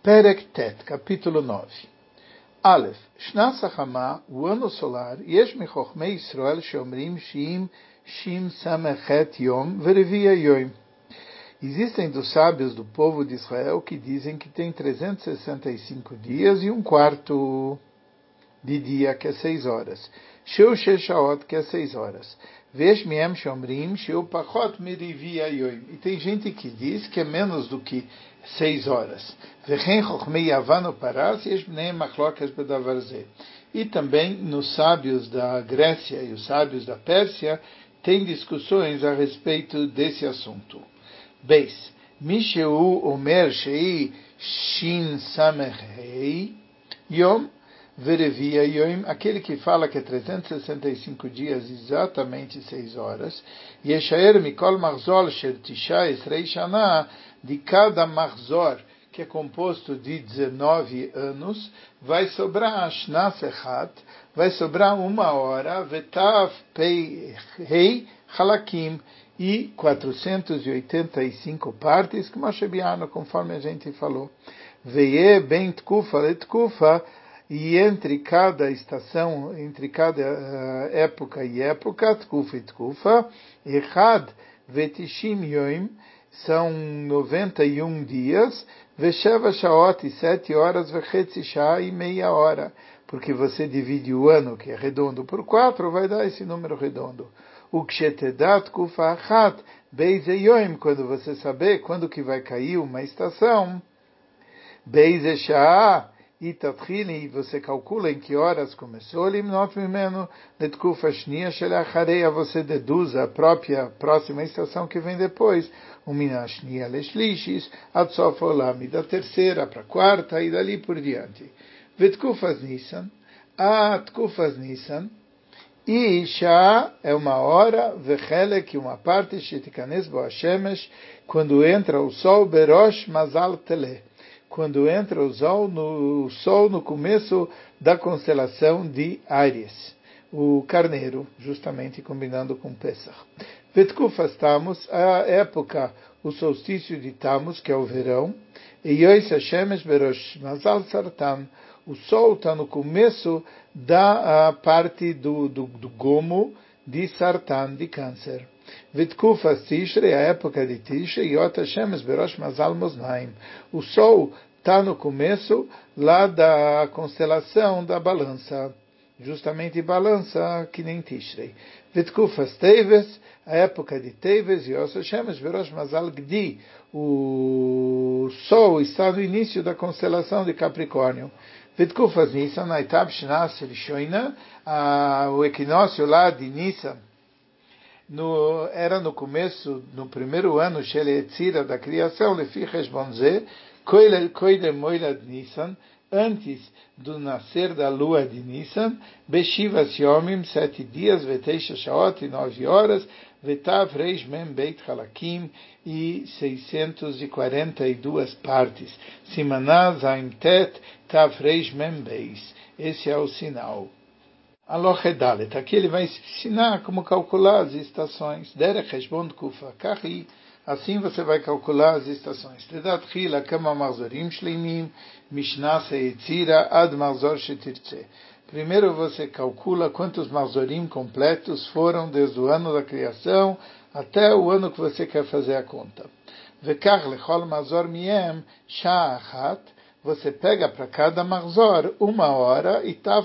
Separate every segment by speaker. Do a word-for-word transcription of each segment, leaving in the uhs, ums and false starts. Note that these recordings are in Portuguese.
Speaker 1: Perek Tet, capítulo nove. Aleph, Shna Sachama, o ano solar, Yesh Mechochmei Yisrael Shomrim Shim Shim Samechet Yom Verevia Yom. Existem dos sábios do povo de Israel que dizem que tem trezentos e sessenta e cinco dias e um quarto de dia, que é seis horas. Sheu Sheshaot, que é seis horas. Vesh Miem Shomrim Sheu Pachot Merivia Yom. E tem gente que diz que é menos do que seis horas. Vechen Chochmei Yavano Paras Yesh Bnei Machlokes Bedavarze. E também nos sábios da Grécia e os sábios da Pérsia tem discussões a respeito desse assunto. Beis, Misheu Omer Shei Shin Samechei Yom Verevia Yom, aquele que fala que é trezentos e sessenta e cinco dias, exatamente seis horas, Yeshaer Mikol Marzor Sher Tisha Esrei Shana, de cada Marzor, que é composto de dezenove anos, vai sobrar Shna Sechat, vai sobrar uma hora, Vetav Pei Hei Halakim, e quatrocentas e oitenta e cinco partes, que Moshe Biano, conforme a gente falou. Veye ben tkufa le tkufa, e entre cada estação, entre cada uh, época e época, tkufa e tkufa, echad vetishim yoim, são noventa e um dias, vesheva shaot, e sete horas, vechetzi shah, e meia hora, porque você divide o ano, que é redondo, por quatro, vai dar esse número redondo. O kshetedat kufa achat, beize yoim, quando você saber quando que vai cair uma estação, beize shah, e tatchili, você calcula em que horas começou, limnot mimeno, letkufa shnia shelachareia, você deduz a própria próxima estação que vem depois, o mina shnia leshlishis, adsof olam, da terceira para a quarta, e dali por diante. Vetkufas Nissan, a tkufas Nissan, e Shah é uma hora, Vechelek, uma parte, Shetikanes Boashemesh, quando entra o sol, Berosh Mazal Tele, quando entra o sol no, o sol no começo da constelação de Áries, o carneiro, justamente combinando com Pesach. Vetkufas Tammuz, a época, o solstício de Tammuz, que é o verão, e Yois Hashemesh Berosh Mazal Sartan, o sol está no começo da parte do, do, do gomo de Sartan, de câncer. Vitkufas Tishrei, a época de Tishrei, Yot Hashemes Berosh Mazal Moznaim. O sol está no começo lá da constelação da balança, justamente balança que nem Tishrei. Vitkufas Teves, a época de Teves, Yot Hashemes Berosh Mazal Gdi. O sol está no início da constelação de Capricórnio. Vitkufas Nissan, Aitab Shnas Rishoina, o equinócio lá de Nissan, no, era no começo, no primeiro ano, Sheletzira, da criação, Lefi Heshbonze, Koidem Moilad Nissan, antes do nascer da lua de Nissan, Beshivas Yomim, sete dias, Veteisha Shaot, nove horas, Vetav Reish Mem Beit Halakim, e seiscentas e quarenta e duas partes. Simanah Zain Tet Tav Reish Mem Beis. Esse é o sinal. Alohedalet. Aqui ele vai ensinar como calcular as estações. Derech Heshbon Kufa Kahi. Assim você vai calcular as estações. Tedat Chila Kama Marzorim Shleimim Mishnah Seyitzira Ad Marzor Shetirtze. Primeiro você calcula quantos marzorim completos foram desde o ano da criação até o ano que você quer fazer a conta. Vekach lechol marzor miem sha'achat. Você pega para cada marzor uma hora e tav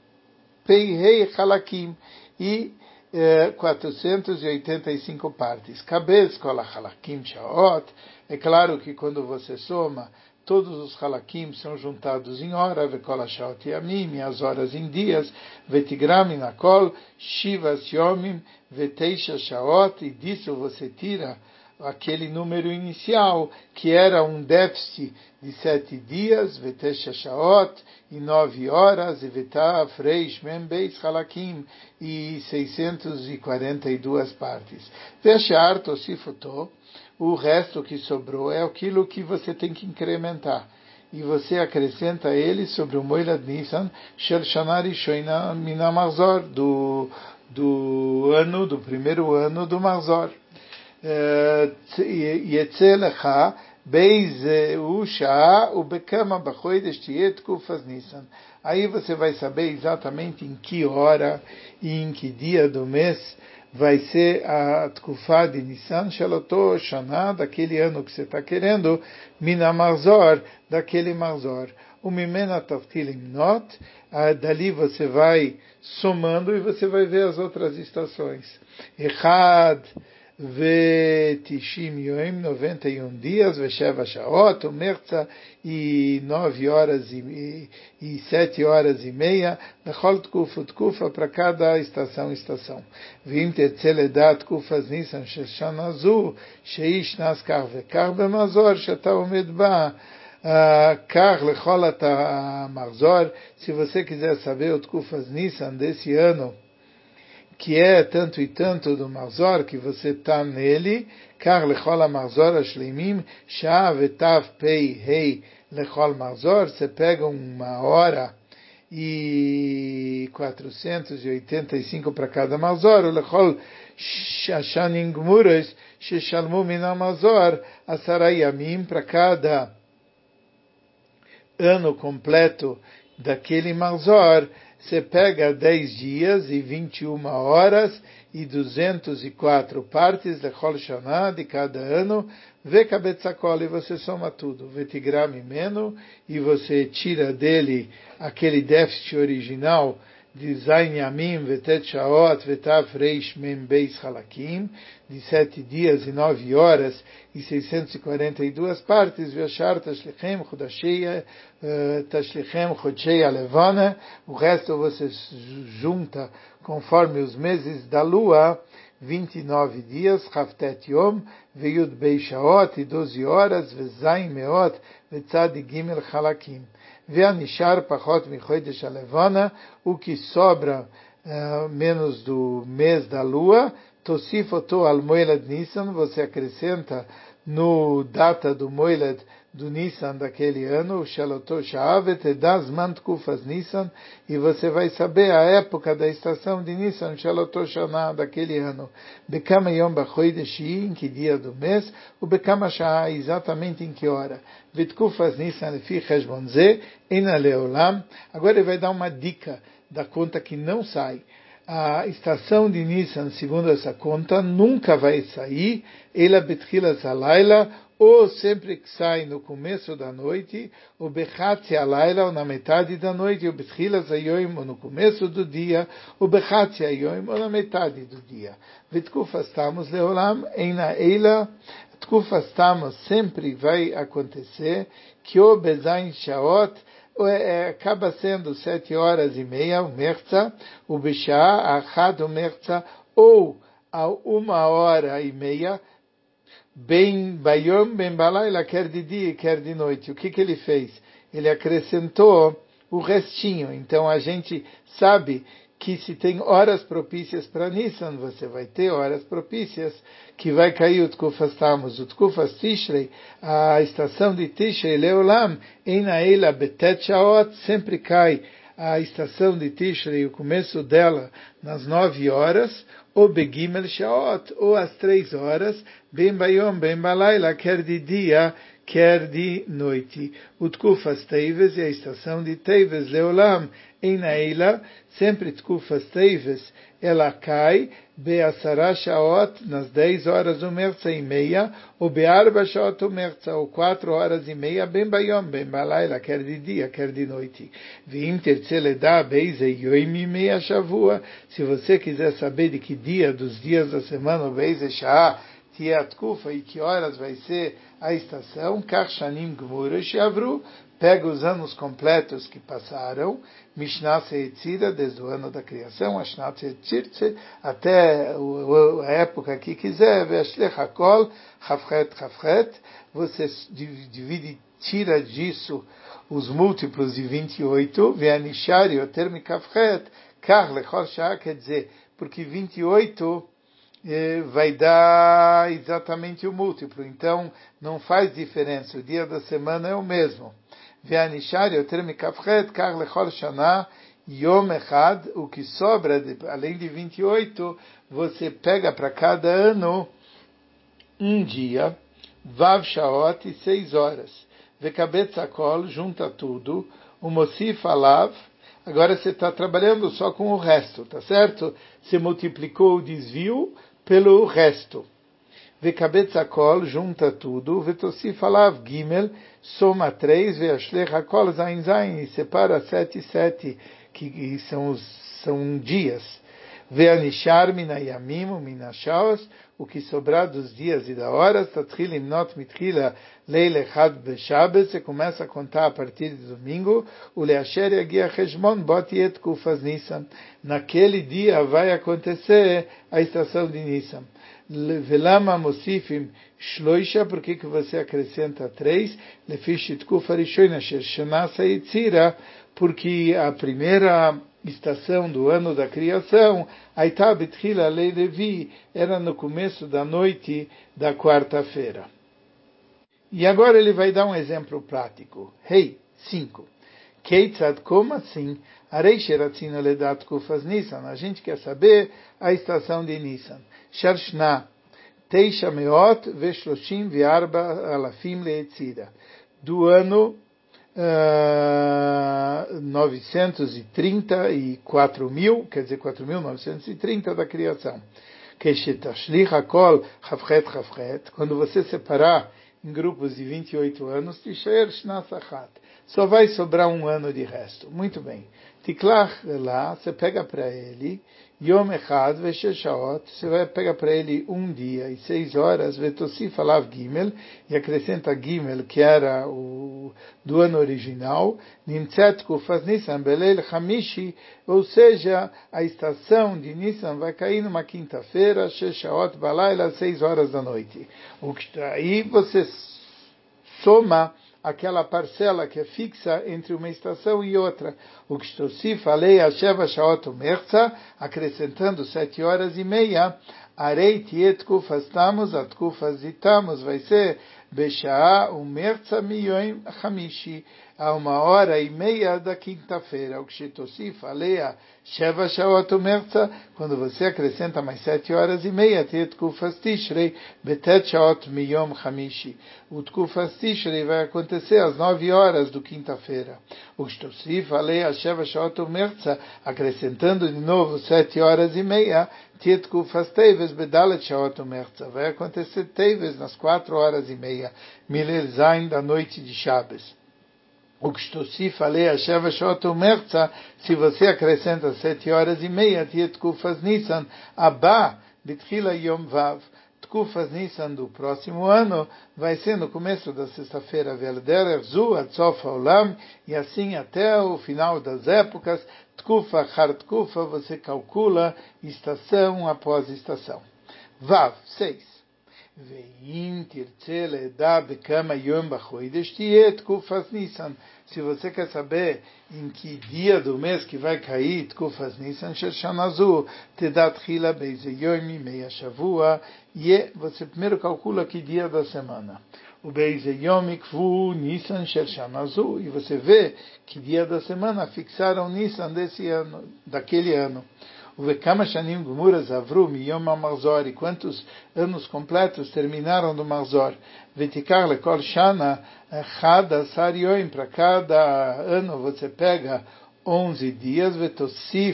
Speaker 1: peihei halakim e eh, quatrocentas e oitenta e cinco partes. Kabez kol halakim shaot. É claro que quando você soma, todos os halakim são juntados em hora, vekol shaot yamim, as horas em dias, vetigram inakol, shivas yomim, veteisha shaot, e disso você tira aquele número inicial, que era um déficit de sete dias, veteisha shaot, e nove horas, e vetav reish mem beis halakim, e seiscentas e quarenta e duas partes. Veshar tosifotó, o resto que sobrou é aquilo que você tem que incrementar. E você acrescenta ele sobre o Moilad Nissan, Shel Shana Rishoina Mina Marzor, do, do ano, do primeiro ano do Marzor. Yetze lecha Beis Usha, o Bekama Bachoides Tiet Kufas Nissan. Aí você vai saber exatamente em que hora e em que dia do mês vai ser a Tkufá de Nissan Shaloto Shana, daquele ano que você está querendo, Mina Marzor, daquele Marzor. O Mimena Taftilim Not, dali você vai somando e você vai ver as outras estações. Echad Vetishim Yoim, noventa e um dias, Vesheva Shaot, o Merza, e nove horas e, e sete horas e meia, Lechol Tkufa, Tkufa, para cada estação, estação. Vim Tetzeledat Tkufas Nissan Sheshanazu, Sheish Naskar Vekar Bemazor, Shatau Medba, Kar Lecholat Marzor. Se você quiser saber o Tkufas Nissan desse ano, que é tanto e tanto do Marzor, que você está nele, Kar Lechol Marzor Ashleimim, Shah Vetav Pei Hei Lechol Marzor, você pega uma hora e quatrocentos e oitenta e cinco para cada Marzor, o Lechol Shashanim Gmuras, Sheshalmu Minam Marzor, Asara Yamim, para cada ano completo daquele Marzor, você pega dez dias e vinte e uma horas e duzentas e quatro partes de Chol Shana, de cada ano, vê Kabetzakol, e você soma tudo, Vetigram Mimeno, e você tira dele aquele déficit original de Zain Yamim, Vetet Shaot, Vetav Reish Mem Beis Halakim, de sete dias e nove horas e seiscentas e quarenta e duas partes, Veshar Tashlichem Chodashei Tashlichem Chodshei Alevana, o resto você junta conforme os meses da lua, vinte e nove dias, Haftet Yom, Veyud Bei Shaot, e doze horas, Vezain Meot, Vetzad Gimel Halakim. Veanishar Pachot Michodesh Alevana, o que sobra uh, menos do mês da lua, Tosifoto al Moilad Nissan, você acrescenta no data do Moilad do Nissan daquele ano, Shaloto Sha'avet, das Mantkufas Nissan, e você vai saber a época da estação de Nissan, Shaloto Shana, daquele ano. Bekama Yom Bachoidesh, em que dia do mês, o Bekama Sha'a, exatamente em que hora. Vitkufas Nissan Lefi Cheshbonze, Ena Leolam. Agora ele vai dar uma dica da conta que não sai. A estação de Nissan, segundo essa conta, nunca vai sair, ela betchilas alayla, ou sempre que sai no começo da noite, ou bechatzi alayla, ou na metade da noite, ou betchilas ayoim, ou no começo do dia, ou bechatzi ayoim, ou na metade do dia. Vitkufas tamos leolam, eina eila, tkufas tamos sempre vai acontecer, que o bezain shaot, acaba sendo sete horas e meia, o merza, o bishá, achad, o merza, ou a uma hora e meia, bem bayom, bem balayla, quer de dia, quer de noite. O que que ele fez? Ele acrescentou o restinho. Então a gente sabe que se tem horas propícias para Nissan, você vai ter horas propícias que vai cair o Tkufas Tammuz. O Tkufas Tishrei, a estação de Tishrei, Leolam, Eina Eila Betet Shaot, sempre cai a estação de Tishrei, o começo dela, nas nove horas, ou Begimel Shaot, ou às três horas, Ben Bayom, Ben Balayla, quer de dia, quer de noite. O Tkufas Teives e a estação de Teives, Leolam, Eina Eila, sempre Tkufas Teives, ela cai, Be'asara Shaot, nas dez horas o merza e meia, ou Be'arba Shaot o merza, ou quatro horas e meia, Ben Bayom, Ben Balayla, quer de dia, quer de noite. Vim terceledá, Beise Yoim meia Shavua, se você quiser saber de que dia dos dias da semana, o Beise Shah, Tiat Kufa, e que horas vai ser a estação, Karshanim Gmura Shavru, pega os anos completos que passaram, Mishnah Seitzira, desde o ano da criação, Ashnat Seitzirtze, até a época que quiser, Ve'ashlech Hakol, Chafret Chafret, você divide, tira disso os múltiplos de vinte e oito, Ve'anishar Yoter Mikafret, Kar Lechol Shah, quer dizer, porque vinte e oito vai dar exatamente o múltiplo, então não faz diferença, o dia da semana é o mesmo. Ve'anishar yoter mikafret kar lechol shana yom echad, o que sobra, de, além de vinte e oito, você pega para cada ano um dia, Vav Shaot, seis horas. Vekabetz Hakol, junta tudo. O Mosif Alav, agora você está trabalhando só com o resto, tá certo? Você multiplicou o desvio pelo resto. Vekabetz Hakol, junta tudo. Vetosif Alav Gimel, soma três. Veashlech Hakol Zain Zain, e separa sete e sete, que são, os, são dias. Veanishar minayamim minashaos, o que sobrar dos dias e da horas, tatchil imnot mitchila leil echad beshabes, você começa a contar a partir de domingo, o leasher yagia cheshmon bot et kufas Nisan, naquele dia vai acontecer a estação de Nisan. Velama mosifim shloisha, por que que você acrescenta três? Lefishit kufa rishoina sher shana saitzira, porque a primeira estação do ano da criação, Aitá Betchila Lei Levi, era no começo da noite da quarta-feira. E agora ele vai dar um exemplo prático. Rei, cinco. Keitzad, como assim? Arei Sheratzina Ledat Kufas Nisan. A gente quer saber a estação de Nisan. Sharshna, Teisha Meot Veshloshim Viarba Alafim Leetzira. Do ano Uh, novecentos e trinta e quatro mil, quer dizer, quatro mil novecentos e trinta da criação. Quando você separar em grupos de vinte e oito anos, só vai sobrar um ano de resto. Muito bem. Tiklach lá, você pega para ele, Yom Echad Vesheshaot, você vai pegar para ele um dia e seis horas, Vetosif Alav Gimel, e acrescenta Gimel, que era o do ano original, Nimtzet Kufas Nisan Belel Hamishi, ou seja, a estação de Nisan vai cair numa quinta-feira, Sheshaot Balayla, seis horas da noite. Aí você soma aquela parcela que é fixa entre uma estação e outra. O que estou se falei a Sheva Shaot Umerza, acrescentando sete horas e meia, Arei Tiet Kufas Tamos, At Kufas Itamos, vai ser Beshaa Umerza Miyoim Hamishi, a uma hora e meia da quinta-feira. O que estou se falei a Sheva Shaot Umerza, quando você acrescenta mais sete horas e meia, Tiet Kufas Tishrei, Betet Shaot Miyom Hamishi. O Tkufas Tishrei vai acontecer às nove horas do quinta-feira. O que estou se falei a Sheva Shaot Umerza, acrescentando de novo sete horas e meia, Tiet Kufas Teves Bedalet Shaot Umerza, vai acontecer Teves nas quatro horas e meia, Milel Zain da noite de Shabbos. O que estou se falei a Sheva Shaot Umerza, se você acrescenta sete horas e meia, Tiet Kufas Nisan, Abba Betchila Yom Vav, Tkufas Nisan do próximo ano vai ser no começo da sexta-feira, Velderer Zu, Atzof Olam, e assim até o final das épocas, Tkufa Har Tkufa, você calcula estação após estação. Vav, seis. Veim tirtze ledar bekama yom bachodesh tiet Tkufas Nisan. Se você quer saber em que dia do mês que vai cair Tkufas Nisan, Sheshanazu, Tedat Chila Beize Yomi Meia Shavua, e você primeiro calcula que dia da semana. O Beize Yomi Kvu Nisan Sheshanazu, e você vê que dia da semana fixaram Nisan desse ano, daquele ano. O Vekama Shanim Gumuras Avru Miyom HaMarzor, e quantos anos completos terminaram do Marzor. Vetikar Lekol Shana Chada Sarioim, para cada ano você pega onze dias, Vetosif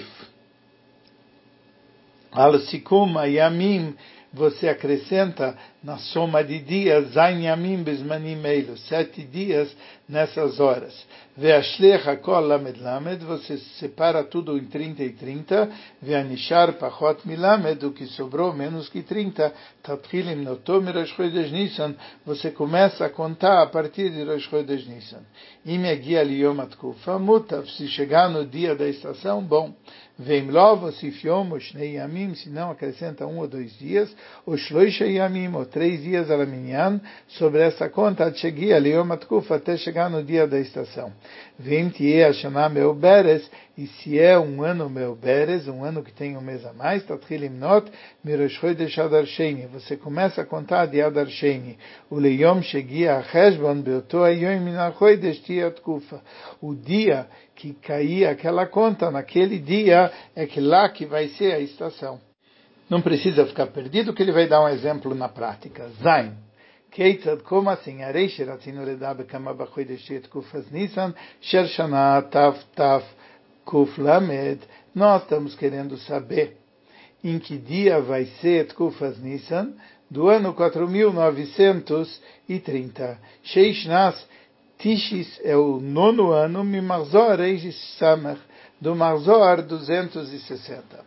Speaker 1: Al Sikum Ayamim, você acrescenta na soma de dias, Zain Yamim Bezmanim Eilu, sete dias nessas horas. Veashlech Hakol Lamed Lamed, você separa tudo em trinta e trinta, Veanishar Pachot Milamed, o que sobrou menos que trinta, Tatchilim Notom Rosh Chodesh Nisan, você começa a contar a partir de Rosh Chodesh Nisan. Im Yagia Liyom Atkufa Mutav, se chegar no dia da estação, bom. Veim Lov, Osif Yom, Oshnei Yamim, se não acrescenta um ou dois dias, o Shloisha Yamim, ou três dias Alaminyan, sobre essa conta, Atchegia Liyom Atkufa, até chegar no dia da estação. Vem Tie Hashanah Meu Beres, e se é um ano Meu Beres, um ano que tem um mês a mais, Tatchilim Not, Mirosh Chodesh Adar Sheni, você começa a contar de Adar Sheni, o Leyom Shegia Cheshbon, Beoto Ayom Minal Chodesh Tia Tkufa, o dia que cair aquela conta, naquele dia, é que lá que vai ser a estação. Não precisa ficar perdido, que ele vai dar um exemplo na prática. Zain. Keitzad, como assim? Arei sheratinu ledar bekama bachodesh etkufas Nisan, sher shana taf taf kuf lamed. Nós estamos querendo saber em que dia vai ser Tkufas Nisan, do ano quatro mil novecentos e trinta. Sheishnas Tishis é o nono ano, Mimarzor Reis Samach, do Marzor duzentos e sessenta.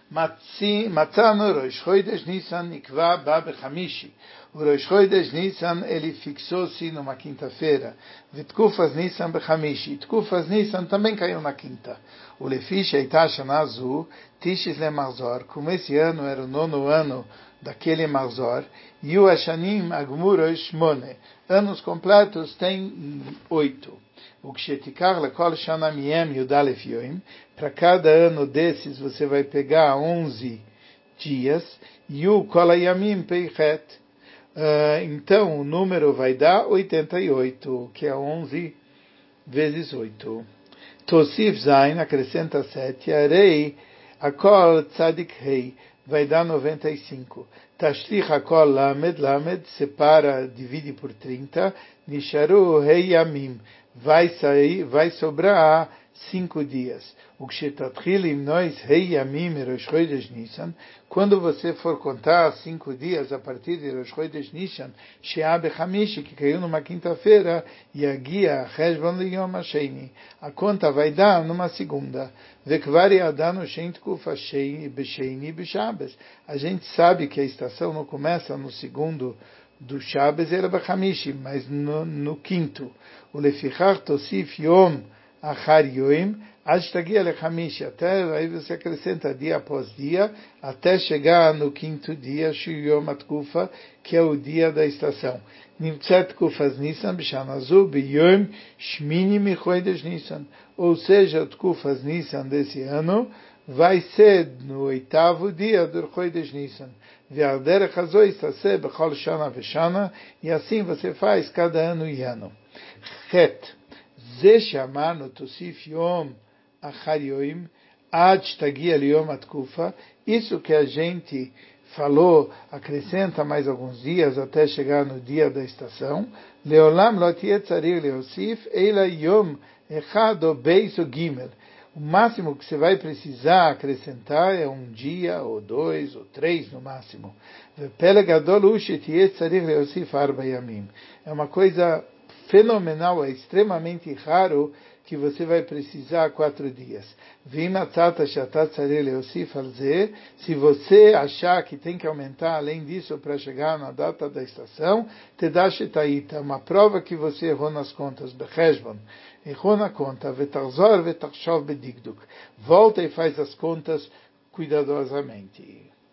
Speaker 1: Matzano Rosh Chodesh Nisan Nikva Ba Bechamishi. O Rosh Chodesh Nisan ele fixou-se numa quinta-feira. Tkufas Nisan Bechamishi. Tkufas Nisan também caiu na quinta. O Lefish Eitash Nazu Tishis Le Marzor. Como esse ano era o nono ano daquele Marzor. E o Ashanim Agmurosh Mone. Anos completos tem oito. O Kshetikar Lekol Shana Miem Yudalef Yoim. Para cada ano desses você vai pegar onze dias. E o Kolayamim Peichet. Uh, então o número vai dar oitenta e oito, que é onze vezes oito. Tosif Zain acrescenta sete. Arei Akol Tzadik Hei vai dar noventa e cinco. Tashlich Akol Lamed, Lamed separa, divide por trinta. Nisharu Hei Yamim vai sair, vai sobrar cinco dias. O Kshetatchilim Nois Hei Yamim Rosh Chodesh Nisan, quando você for contar cinco dias a partir de Rosh Chodesh Nisan, She'ah Bechamishi, que caiu numa quinta-feira, Yagia Cheshbon Liyom Hasheni, a conta vai dar numa segunda. Vekvari Adanu Shein Tkufa B'Sheini B'Shabes. A gente sabe que a estação não começa no segundo do Shabbos, era Bechamishi, mas no, no quinto. O Lefichach Tosif Yom Achar Yoim, Ashtagia Lechamishi, até aí você acrescenta dia após dia, até chegar no quinto dia, Shiyom Atkufa, que é o dia da estação. Nimtzet Tkufas Nisan, Bishanazu, Biyom Shmini Michodesh Nisan, ou seja, Tkufas Nisan desse ano vai ser no oitavo dia do Chodesh Nisan. Ve'alderech hazoi taseh bechol shana veshana, e assim você faz cada ano e ano. Het. Ze shamanu tosif yom achar yoim ad shtagia liyom atkufa. Isso que a gente falou, acrescenta mais alguns dias até chegar no dia da estação. Leolam lo tiye tzarich leosif eila yom echad o beis o gimel. O máximo que você vai precisar acrescentar é um dia, ou dois, ou três no máximo. É uma coisa fenomenal, é extremamente raro que você vai precisar quatro dias. Se você achar que tem que aumentar além disso para chegar na data da estação, te dá shetaita, uma prova que você errou nas contas, becheshbon. Errou na conta, vetarzor vetachshov bedigduk. Volta e faz as contas cuidadosamente.